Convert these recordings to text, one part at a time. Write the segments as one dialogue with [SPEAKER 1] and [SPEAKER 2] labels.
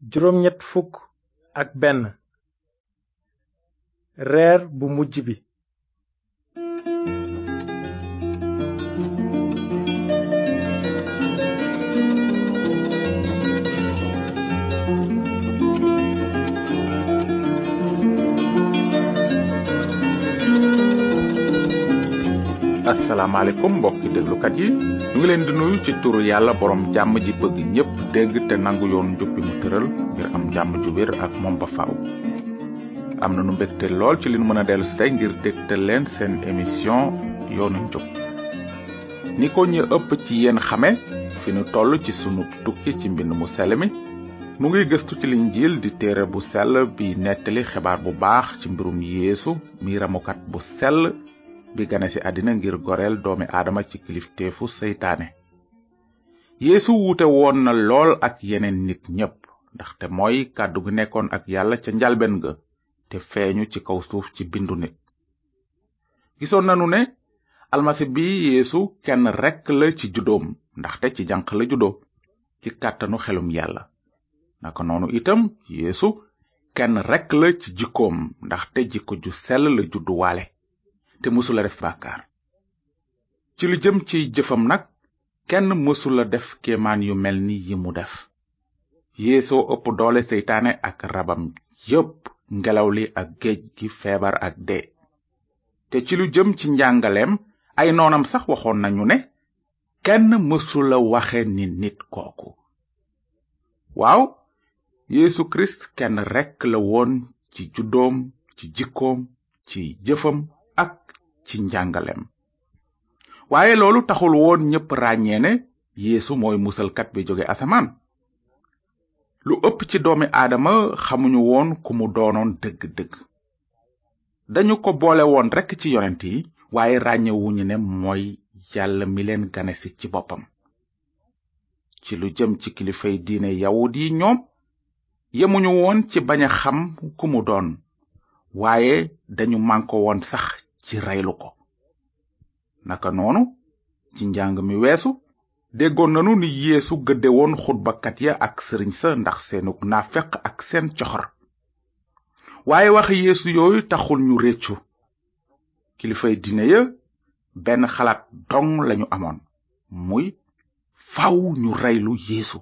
[SPEAKER 1] juróom-ñett fukk ak benn reer bu mujj bi.
[SPEAKER 2] asalaamaaleykum mbokki déglukat yi ñu ngi leen di nuyu ci turu yàlla borom jàmm ji bëgg ñépp dégg te nangu yoon njub bi mu tëral ngir am jàmm ju wér ak moom ba faaw. am na nu mbégte lool ci li nu mën a dellu si tey ngir dégtal leen seen émission yoonu njub. ni ko ñu ëpp ci yéen xame fi nu toll ci sunu tukki ci mbind mu sell mi mu ngi gëstu ci Linjiil di téere bu sell bi nettali xibaar bu baax ci mbirum Yeesu mi ramukat bu sell bi gane ci àddina ngir goreel doomi aadama ci kilifteefu seytaane. Yeesu wuute woon na lool ak yeneen nit ñépp ndaxte mooy kàddu gi nekkoon ak yàlla ca njalben ga te feeñu ci kaw suuf ci bindu nit. gisoon nanu ne almasi bi Yeesu kenn rekk la ci juddoom ndaxte ci janq la juddoo ci kàttanu xelum yàlla. naka noonu itam Yeesu kenn rekk la ci jikkoom ndaxte jikko ju sell la judduwaale te mësula def bàkkaar. ci lu jëm ci jëfam nag kenn mësula def kéemaan yu mel ni yi mu def. Yeesoo ëpp doole seytaane ak rabam yépp, ngelaw li ak géej gi, feebar ak dee. te ci lu jëm ci njàngaleem ay noonam sax waxoon nañu ne kenn mësula waxe ni nit kooku. waaw, Yeesu Kirist kenn rekk la woon ci juddoom, ci jikkoom, ci jëfam ak ci njàngaleem. waaye loolu taxul woon ñépp ràññee ne Yeesu mooy musalkat bi jóge asamaan. lu ëpp ci doomi aadama xamuñu woon ku mu doonoon dëgg-dëgg. dañu ko boole woon rekk ci yonent yi waaye ràññewuñu ne mooy yàlla mi leen ganesi ci boppam. ci lu jëm ci kilifay diine yawut yi ñoom yemuñu woon ci bañ a xam ku mu doon waaye dañu mànko woon sax ci reylu ko. naka noonu ci njàng mi weesu déggoon nanu ni Yeesu gëdde woon xutbakat ya ak sëriñ sa ndax seenug naafeq ak seen coxor. waaye wax Yeesu yooyu taxul ñu réccu. kilifay diine ya benn xalaat dong lañu amoon, muy faw ñu reylu Yeesu.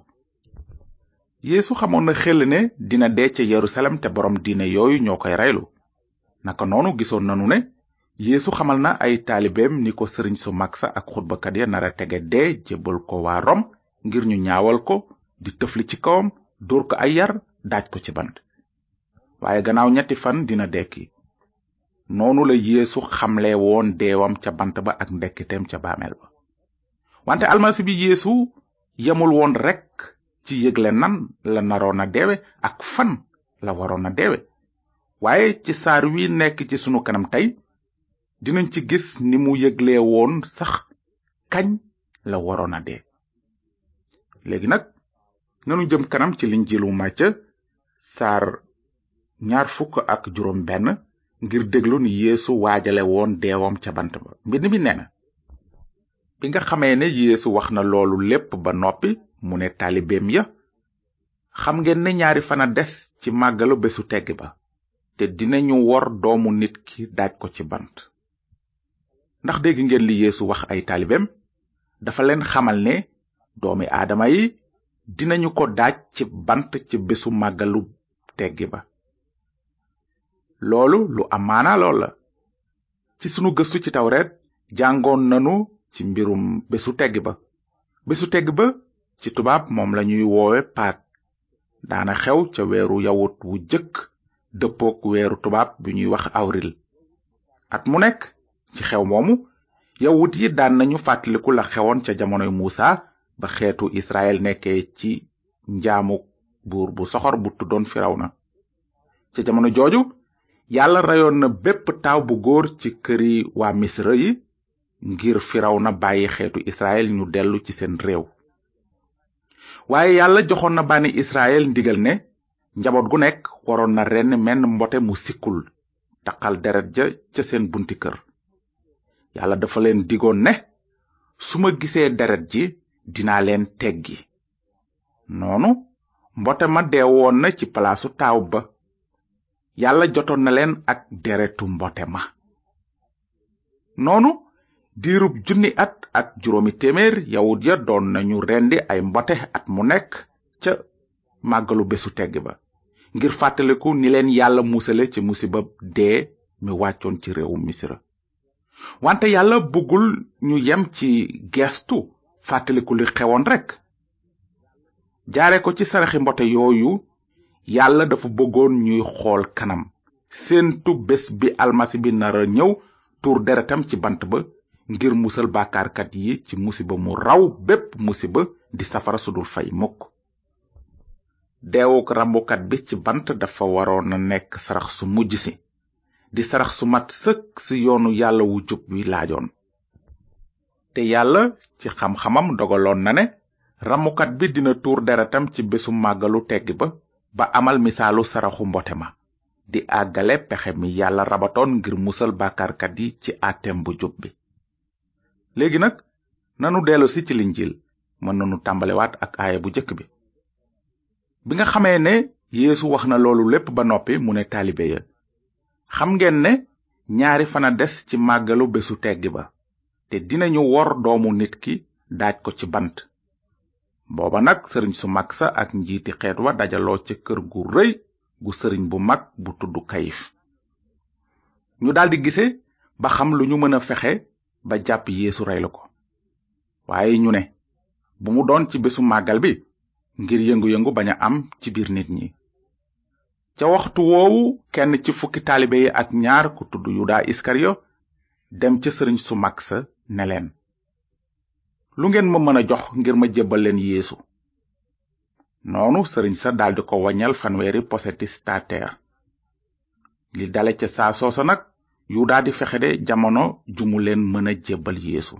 [SPEAKER 2] Yeesu xamoon na xel ne dina dee ca Yerusalem te borom diine yooyu ñoo koy reylu. naka noonu gisoon nanu ne Yeesu xamal na ay taalibeem ni ko sëriñ su mag sa ak xutbakat ya nara tege dee jébbal ko waa Rom ngir ñu ñaawal ko, di tëfli ci kawam, dóor ko ay yar, daaj ko ci bant. waaye gannaaw 3 fan dina dekki. noonu la Yeesu xamle woon deewam ca bant ba ak ndekkiteem ca baameel ba. wante almasi bi Yeesu yemul woon rekk ci yëgle nan la naroon a deewe ak fan la waroon a deewe. waaye ci saar wi nekk ci sunu kanam tey dinañ ci gis ni mu yëgle woon sax kañ la waroon a dee. léegi nag nanu jëm kanam ci Linjiilu Màcca saar 26 ngir déglu ni Yeesu waajale woon deewam ca bant ba. mbind mi nee na, bi nga xamee ne Yeesu wax na loolu lépp ba noppi mu ne taalibeem ya, xam ngeen ne 2 fan a des ci màggalu bésu teggi ba te dinañu wor doomu nit ki daaj ko ci bant. ndax dégg ngeen li Yeesu wax ay taalibeem? dafa leen xamal ne doomi aadama yi dinañu ko daaj ci bant ci bésu màggalu teggi ba. loolu lu am maanaa lool la. ci sunu gëstu ci tawreet jàngoon nanu ci mbirum bésu teggi ba. bésu teggi ba ci tubaab moom lañuy woowe Pâques, daana xew ca weeru yawut wu jëkk dëppook weeru tubaab bi ñuy wax avril. at mu nekk ci xew moomu yawut yi daan nañu fàttaliku la xewoon ca jamonoy Muusa ba xeetu Israel nekkee ci njaamu buur bu soxor bu tuddoon Firawna. ca jamono jooju yàlla reyoon na bépp taaw bu góor ci këri waa Misra yi ngir Firawna bàyyi xeetu Israel ñu dellu ci seen réew. waaye yàlla joxoon na bànni Israel ndigal ne njaboot gu nekk waroon na ren menn mbote mu sikkul taqal deret ja ca seen bunti kër. yàlla dafa leen digoon ne su ma gisee deret ji dinaa leen teggi. noonu mbote ma deewoon na ci palaasu taaw ba. Yàlla jotoon na leen ak deretu mbote ma. noonu diirub 1,000 at ak 700 yawut ya doon nañu rendi ay mbote at mu nekk ca màggalu bésu tegg ba, ngir fàttaliku ni leen Yàlla musale ci musiba dee mi wàccoon ci réewu Misra. wante Yàlla bëggul ñu yem ci gestu fàttaliku li xewoon rekk. jaare ko ci saraxi mbote yooyu, Yàlla dafa bëggoon ñuy xool kanam, séentu bés bi almasi bi nara ñëw tuur deretam ci bant ba ngir musal bàkkaarkat yi ci musiba mu raw bépp musiba di safara sudul fay mukk. deewuk rambukat bi ci bant dafa waroon a nekk sarax su mujj si, di sarax su mat sëkk si yoonu Yàlla wu jub wi laajoon. te Yàlla ci xam-xamam dogaloon na ne ramukat bi dina tuur deretam ci bésu màggalu teggi ba amal misaalu saraxu mbote ma, di àggale pexe mi Yàlla rabatoon ngir musal bàkkaarkat yi ci àtteem bu jub bi. léegi nag nanu dellusi ci linjil, mën nanu tàmbalewaat ak aaya bu jëkk bi. bi nga xamee ne Yeesu wax na loolu lépp ba noppi, mu ne taalibe ya, xam ngeen ne 2 fan a des ci màggalu bésu teggi ba, te dinañu wor doomu nit ki daaj ko ci bant. booba nag sëriñ su mag sa ak njiiti xeet wa dajaloo ca kër gu rëy gu sëriñ bu mag bu tudd Kayif. ñu daldi gise ba xam lu ñu mën a fexe ba jàpp Yeesu rey la ko. waaye ñu ne bu mu doon ci bésu màggal bi, ngir yëngu-yëngu bañ a am ci biir nit ñi. ca waxtu woowu kenn ci fukki taalibe yi ak 2 ku tudd Yuda Iskariyo dem ca sëriñ su mag sa ne leen, lu ngeen ma mën a jox ngir ma jébbal leen Yeesu? noonu sëriñ sa daldi ko waññal 100 poseti stater. li dale ca saa soosa nag Yuda di fexe de jamono ju mu leen mën a jébbal Yeesu.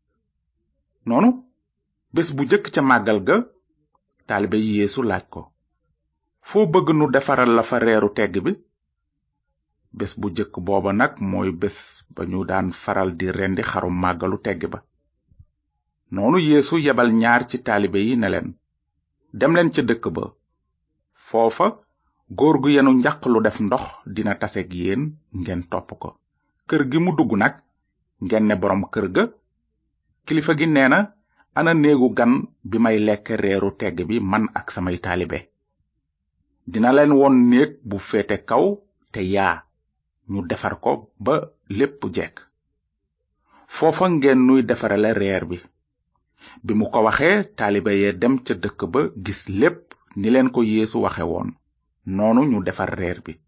[SPEAKER 2] noonu bés bu jëkk ca màggal ga, taalibe yi Yeesu laaj ko, foo bëgg nu defaral la fa reeru tegg bi? bés bu jëkk booba nag mooy bés ba ñu daan faral di rendi xarum màggalu tegg ba. noonu Yeesu yebal 2 ci taalibe yi ne leen, dem leen ca dëkk ba. foofa góor gu yenu njaq lu def ndox dina taseeg yéen, ngeen topp ko. kër gi mu dugg nag ngeen ne boroom kër ga, kilifa gi nee na, ana néegu gan bi may lekk reeru tegg bi man ak samay taalibe. dina leen won néeg bu féete kaw te yaa, ñu defar ko ba lépp jekk. foofa ngeen nuy defarale reer bi. bi mu ko waxee, taalibe yee dem ca dëkk ba gis lépp ni leen ko Yeesu waxe woon. noonu ñu defar reer bi.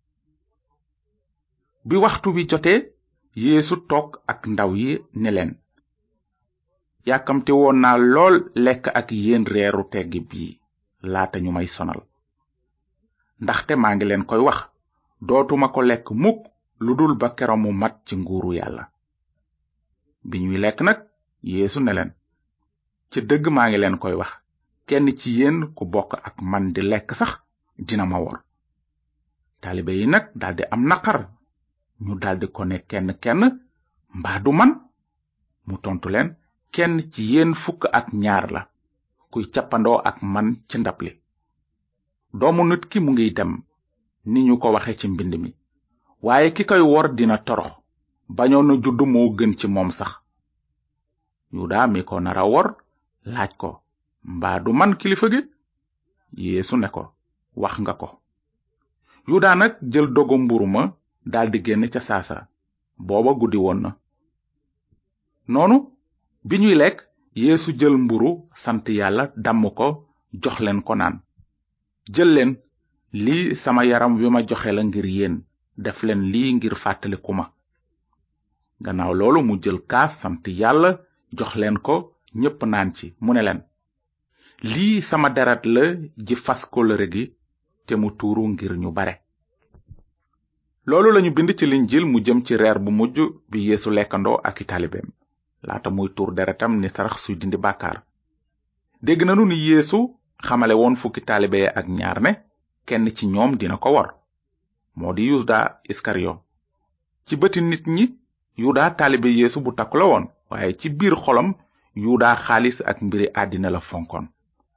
[SPEAKER 2] bi waxtu wi jotee, Yeesu toog ak ndaw yi ne leen, yàkkamte woon naa lool lekk ak yéen reeru teggi bii laata ñu may sonal. ndaxte maa ngi leen koy wax, dootuma ko lekk mukk lu dul ba kero mu mat ci nguuru Yàlla. bi ñuy lekk nag, Yeesu ne leen, ci dëgg maa ngi leen koy wax, kenn ci yéen ku bokk ak man di lekk sax dina ma wor. taalibe yi nag daldi am naqar, ñu daldi ko ne kenn mbaa du man? mu tontu leen, kenn ci yéen 12 la, kuy cappandoo ak man ci ndab li. doomu nit ki mu ngiy dem ni ñu ko waxe ci mbind mi, waaye ki koy wor dina torox, bañoon na judd moo gën ci moom sax. Yuda mi ko nara wor laaj ko, mbaa du man kilifa gi? Yeesu ne ko, wax nga ko. Yuda nag jël dogu mburu ma daldi génn ca saasa, booba guddi woon na. noonu bi ñuy lekk, Yeesu jël mburu sant Yàlla damm ko jox leen ko naan, jël leen, lii sama yaram wi ma joxe la ngir yéen, def leen lii ngir fàttaliku ma. gannaaw loolu mu jël kaas sant Yàlla jox leen ko, ñépp naan ci, mu ne leen, lii sama deret la ji fas kóllëre gi te mu tuuru ngir ñu bare. loolu lañu bind ci linjil mu jëm ci reer bu mujj bi Yeesu lekkandoo ak i taalibeem laata muy tuur deretam ni sarax suy dindi bàkkaar. dégg nanu ni Yeesu xamale woon 10 taalibe ak 2 ne kenn ci ñoom dina ko wor, moo di Yuda Iskariyo. ci bëti nit ñi, Yuda taalibe Yeesu bu takku la woon, waaye ci biir xolam Yuda xaalis ak mbiri àddina la fonkoon.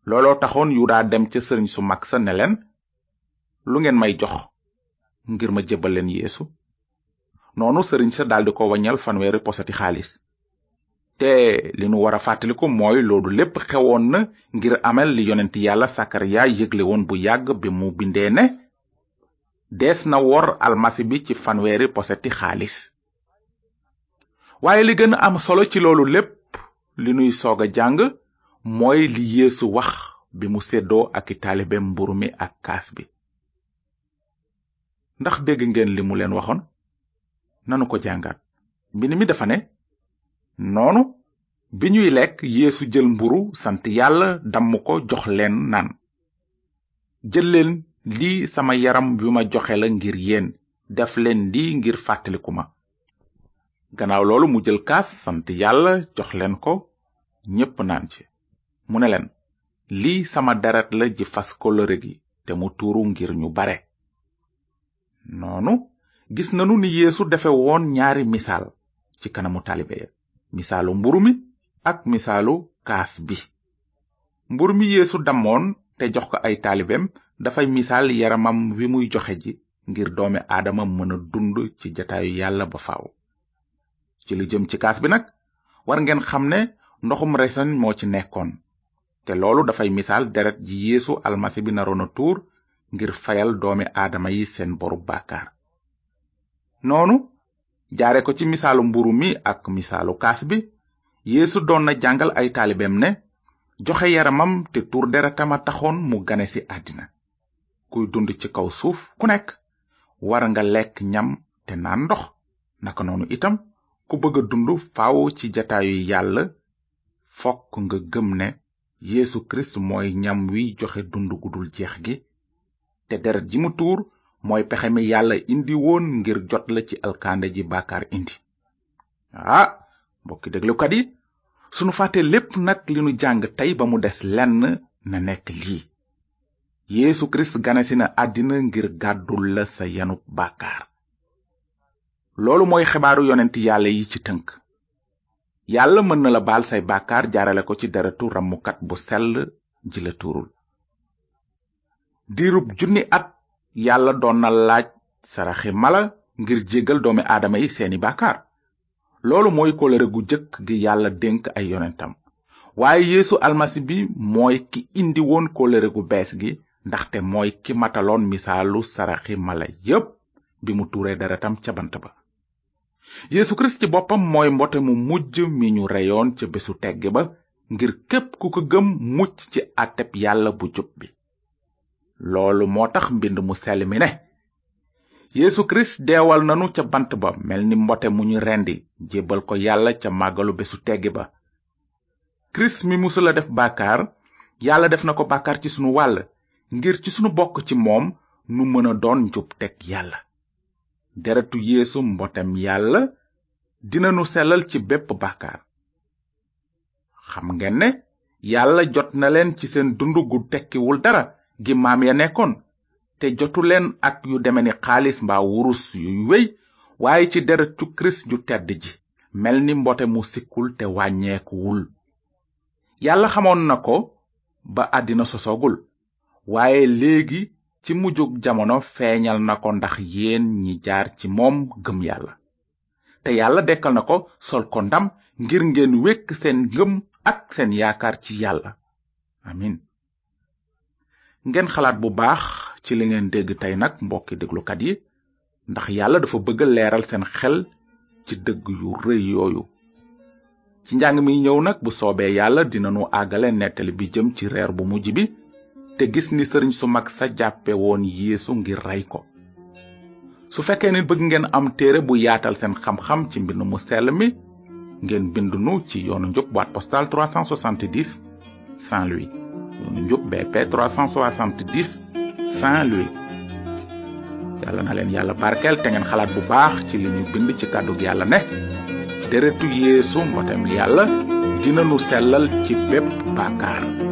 [SPEAKER 2] looloo taxoon Yuda dem ca sëriñ su mag sa ne leen, lu ngeen may jox ngir ma jébbal leen Yeesu? noonu sëriñ sa daldi ko waññal fanweeri posati xaalis. te li nu war a fàttaliku mooy loolu lépp xewoon na ngir amal li yonent yàlla Sakariya yëgle woon bu yàgg bi mu bindee ne dees na wor almasi bi ci fanweeri posati xaalis. waaye li gën a am solo ci loolu lépp li nuy soog a jàng mooy li Yeesu wax bi mu seddoo ak i taalibeem mburu mi ak kaas bi. ndax dégg ngeen li mu leen waxoon? nanu ko jàngat. mbind mi dafa ne, noonu bi ñuy lekk Yeesu jël mburu sant yàlla damm ko jox leen naan, jël leen lii sama yaram bi ma joxe la ngir yéen, def leen lii ngir fàttaliku ma. gannaaw loolu mu jël kaas sant yàlla jox leen ko, ñépp naan ci. mu ne leen, lii sama deret la ji fas kóllëre gi te mu tuuru ngir ñu bare. noonu gis nanu ni Yeesu defe woon ñaari misaal ci kanamu taalibe ya, misaalu mburu mi ak misaalu kaas bi. mburu mi Yeesu damoon te jox ko ay taalibeem dafay misaal yaramam wi muy joxe ji ngir doomi aadama mën a dund ci jataayu yàlla ba faaw. ci lu jëm ci kaas bi nag war ngeen xam ne ndoxum reseñ moo ci nekkoon, te loolu dafay misaal deret ji Yeesu almasi bi naroon a tuur ngir fayal doomi aadama yi seen boru bàkkaar. noonu jaare ko ci misaalu mburu mi ak misaalu kaas bi, Yeesu doon na jàngal ay taalibeem ne joxe yaramam te tuur deretam a taxoon mu gane ci àddina. kuy dund ci kaw suuf ku nekk war nga lekk ñam te naan ndox. naka noonu itam ku bëgg a dund faaw ci jataayu yàlla fokk nga gëm ne Yeesu Kirist mooy ñam wi joxe dund gudul jeex gi, te deret ji mu tuur mooy pexe mi yàlla indi woon ngir jot la ci alkande ji bàkkaar indi. mbokki déglukat yi, sunu fàtte lépp nag li nu jàng tey ba mu des lenn na nekk lii: Yeesu Kirist ganesi na àddina ngir gàddul la sa yanub bàkkaar. loolu mooy xibaaru yonent yàlla yi ci tënk. yàlla mën na la baal say bàkkaar jaarale ko ci deretu ramukat bu sell ji la tuurul. diirub 1000 at yàlla doon na laaj saraxi mala ngir jéggal doomi aadama yi seeni bàkkaar. loolu mooy kóllëre gu jëkk gi yàlla dénk ay yonentam. waaye Yeesu almasi bi mooy ki indi woon kóllëre gu bees gi, ndaxte mooy ki mataloon misaalu saraxi mala yépp bi mu tuuree deretam ca bant ba. Yeesu Kirist ci boppam mooy mbote mu mujj mi ñu reyoon ca bésu tegg ba ngir képp ku ko gëm mucc ci àtteb yàlla bu jub bi. loolu moo tax mbind mu sell mi ne Yeesu Kirist deewal nanu ca bant ba mel ni mbote mu ñu rendi jébbal ko yàlla ca màggalu bésu tegg ba. Kirist mi musula def bàkkaar, yàlla def na ko bàkkaar ci sunu wàll ngir ci sunu bokk ci moom nu mën a doon njub teg yàlla. deretu Yeesu mbotem yàlla dina nu sellal ci bépp bàkkaar. xam ngeen ne yàlla jot na leen ci seen dund gu tekkiwul dara gi maam ya nekkoon, te jotu leen ak yu deme ni xaalis mbaa wurus yuy wéy, waaye ci deretu Kirist ju tedd ji mel ni mbote mu sikkul te wàññeekuwul. yàlla xamoon na ko ba àddina sosoogul, waaye léegi ci mujjug jamono feeñal na ko ndax yéen ñi jaar ci moom gëm yàlla. te yàlla dekkal na ko sol ko ndam ngir ngeen wekk seen ngëm ak seen yaakaar ci yàlla. amin. ngeen xalaat bu baax ci li ngeen dégg tey nag mbokki déglukat yi, ndax yàlla dafa bëgg leeral seen xel ci dëgg yu rëy yooyu. ci njàng mi ñëw nag bu soobee yàlla dinanu àggale nettali bi jëm ci reer bu mujj bi, te gis ni sëriñ su mag sa jàppe woon Yeesu ngir rey ko. su fekkee ni bëgg ngeen am téere bu yaatal seen xam-xam ci mbind mu sell mi, ngeen bindunu ci yoonu njub boîte postale 370 Saint-Louis. yoonu njub BP 370 Saint-Louis. yàlla na leen yàlla barkeel te ngeen xalaat bu baax ci li ñu bind ci kàddug yàlla ne deretu Yeesu mbotem yàlla dina nu sellal ci bépp bàkkaar.